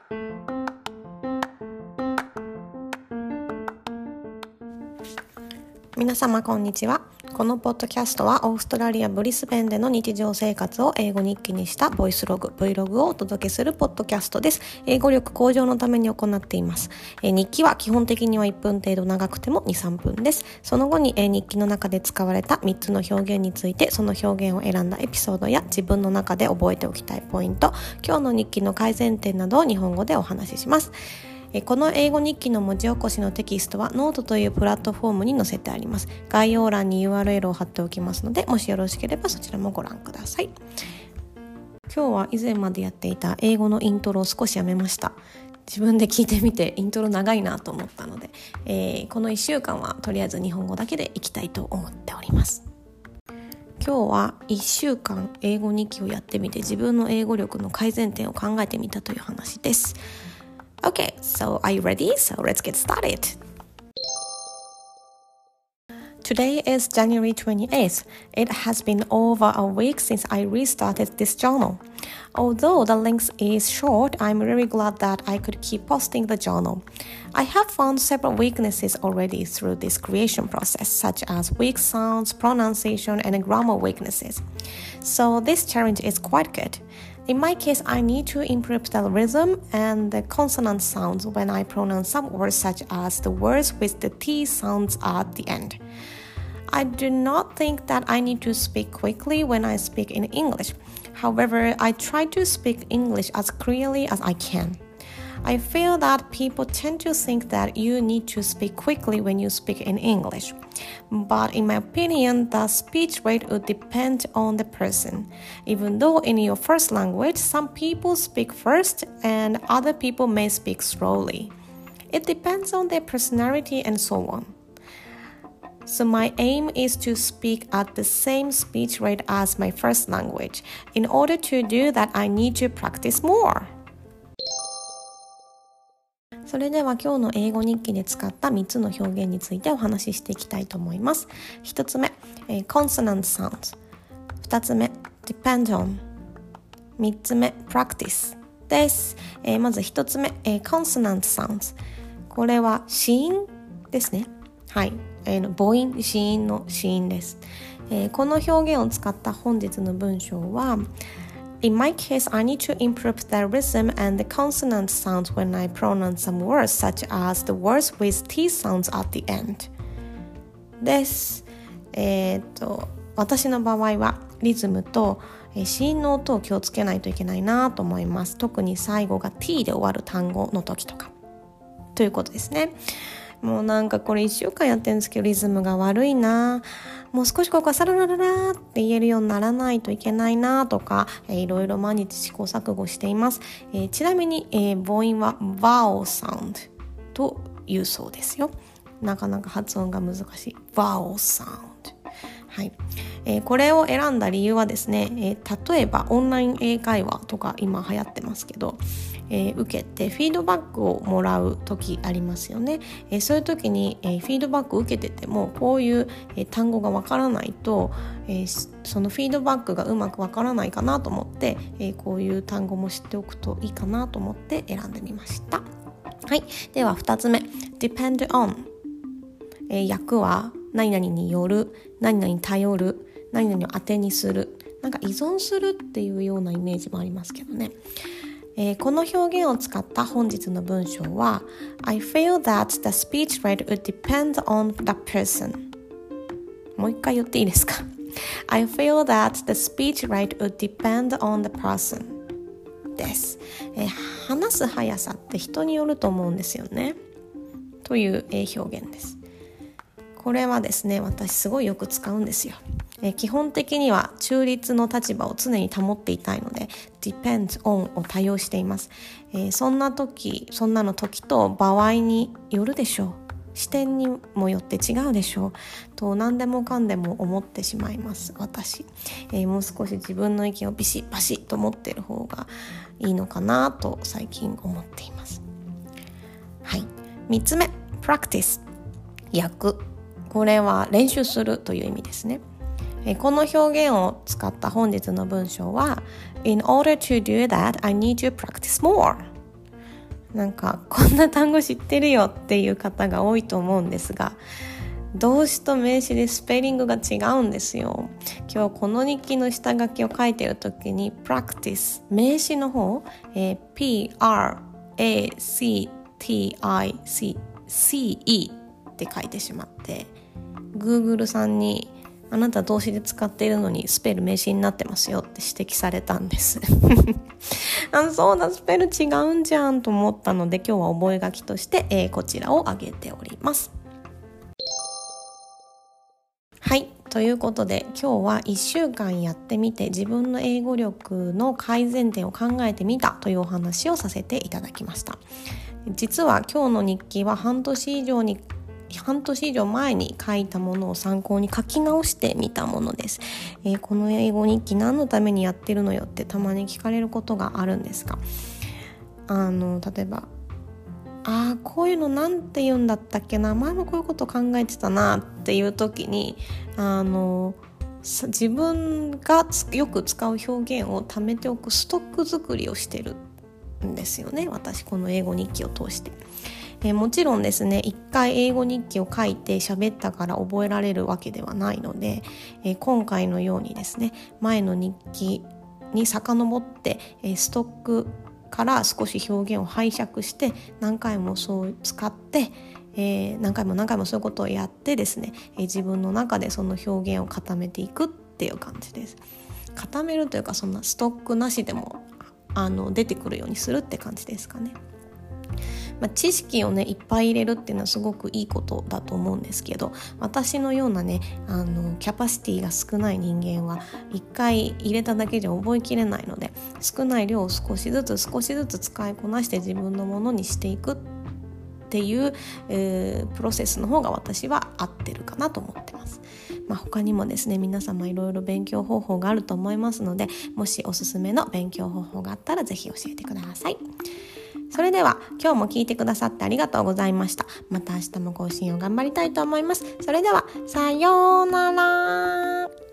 皆様こんにちは。このポッドキャストはオーストラリアブリスベンでの日常生活を英語日記にしたボイスログ Vlog をお届けするポッドキャストです。英語力向上のために行っています。日記は基本的には1分程度、長くても 2,3 分です。その後に日記の中で使われた3つの表現について、その表現を選んだエピソードや自分の中で覚えておきたいポイント、今日の日記の改善点などを日本語でお話しします。この英語日記の文字起こしのテキストはノートというプラットフォームに載せてあります。概要欄に URL を貼っておきますので、もしよろしければそちらもご覧ください。今日は以前までやっていた英語のイントロを少しやめました。自分で聞いてみてイントロ長いなと思ったので、この1週間はとりあえず日本語だけでいきたいと思っております。今日は1週間英語日記をやってみて自分の英語力の改善点を考えてみたという話です。Okay, so are you ready? So let's get started. Today is January 28th. It has been over a week since I restarted this journal. Although the length is short, I'm really glad that I could keep posting the journal. I have found several weaknesses already through this creation process, such as weak sounds, pronunciation, and grammar weaknesses. So this challenge is quite good.In my case, I need to improve the rhythm and the consonant sounds when I pronounce some words such as the words with the T sounds at the end. I do not think that I need to speak quickly when I speak in English. However, I try to speak English as clearly as I can.I feel that people tend to think that you need to speak quickly when you speak in English. But in my opinion, the speech rate would depend on the person. Even though in your first language, some people speak first and other people may speak slowly. It depends on their personality and so on. So my aim is to speak at the same speech rate as my first language. In order to do that, I need to practice more.それでは今日の英語日記で使った3つの表現についてお話ししていきたいと思います。1つ目、consonant sounds。2つ目、depend on。3つ目、practice です。まず1つ目、consonant sounds。これは子音ですね。はい。母音、子音の子音です。この表現を使った本日の文章はIn my case, I need to improve the rhythm and the consonant sounds when I pronounce some words, such as the words with T sounds at the end. です。私の場合はリズムと子音の音を気をつけないといけないなと思います。特に最後が T で終わる単語の時とか。ということですね。もうなんかこれ1週間やってるんですけどリズムが悪いな、もう少しここはサララララって言えるようにならないといけないなとか、いろいろ毎日試行錯誤しています。ちなみに、母音は vowel sound というそうですよ。なかなか発音が難しい vowel sound、はい。これを選んだ理由はですね、例えばオンライン英会話とか今流行ってますけど、受けてフィードバックをもらう時ありますよね。そういう時に、フィードバックを受けててもこういう、単語がわからないと、そのフィードバックがうまくわからないかなと思って、こういう単語も知っておくといいかなと思って選んでみました。はい。では2つ目 depend on、訳は何々による、何々に頼る、何々を当てにする、なんか依存するっていうようなイメージもありますけどね。この表現を使った本日の文章は I feel that the speech rate would depend on the person。 もう一回言っていいですか？ I feel that the speech rate would depend on the person です。話す速さって人によると思うんですよねという表現です。これはですね、私すごいよく使うんですよ。基本的には中立の立場を常に保っていたいので depends on を多用しています。そんなの時と場合によるでしょう、視点にもよって違うでしょうと何でもかんでも思ってしまいます私。もう少し自分の意見をビシッバシッと持っている方がいいのかなと最近思っています。はい。3つ目 practice 訳、これは練習するという意味ですね。この表現を使った本日の文章は In order to do that, I need to practice more。 なんかこんな単語知ってるよっていう方が多いと思うんですが、動詞と名詞でスペリングが違うんですよ。今日この日記の下書きを書いてる時に practice 名詞の方、practice って書いてしまって、 Google さんにあなた動詞で使っているのにスペル名詞になってますよって指摘されたんですそうだ、スペル違うんじゃんと思ったので、今日は覚書きとして、こちらを挙げております。はい、ということで今日は1週間やってみて自分の英語力の改善点を考えてみたというお話をさせていただきました。実は今日の日記は半年以上前に書いたものを参考に書き直してみたものです。この英語日記何のためにやってるのよってたまに聞かれることがあるんですが、例えばこういうのなんて言うんだったっけな、前もこういうこと考えてたなっていう時に自分がよく使う表現を貯めておくストック作りをしてるんですよね、私この英語日記を通して。もちろんですね、一回英語日記を書いて喋ったから覚えられるわけではないので、今回のようにですね、前の日記に遡って、ストックから少し表現を拝借して何回もそう使って、何回もそういうことをやってですね、自分の中でその表現を固めていくっていう感じです。固めるというか、そんなストックなしでも出てくるようにするって感じですかね。知識をねいっぱい入れるっていうのはすごくいいことだと思うんですけど、私のようなねキャパシティが少ない人間は一回入れただけじゃ覚えきれないので、少ない量を少しずつ使いこなして自分のものにしていくっていう、プロセスの方が私は合ってるかなと思ってます。他にもですね、皆様いろいろ勉強方法があると思いますので、もしおすすめの勉強方法があったらぜひ教えてください。それでは今日も聞いてくださってありがとうございました。また明日も更新を頑張りたいと思います。それではさようなら。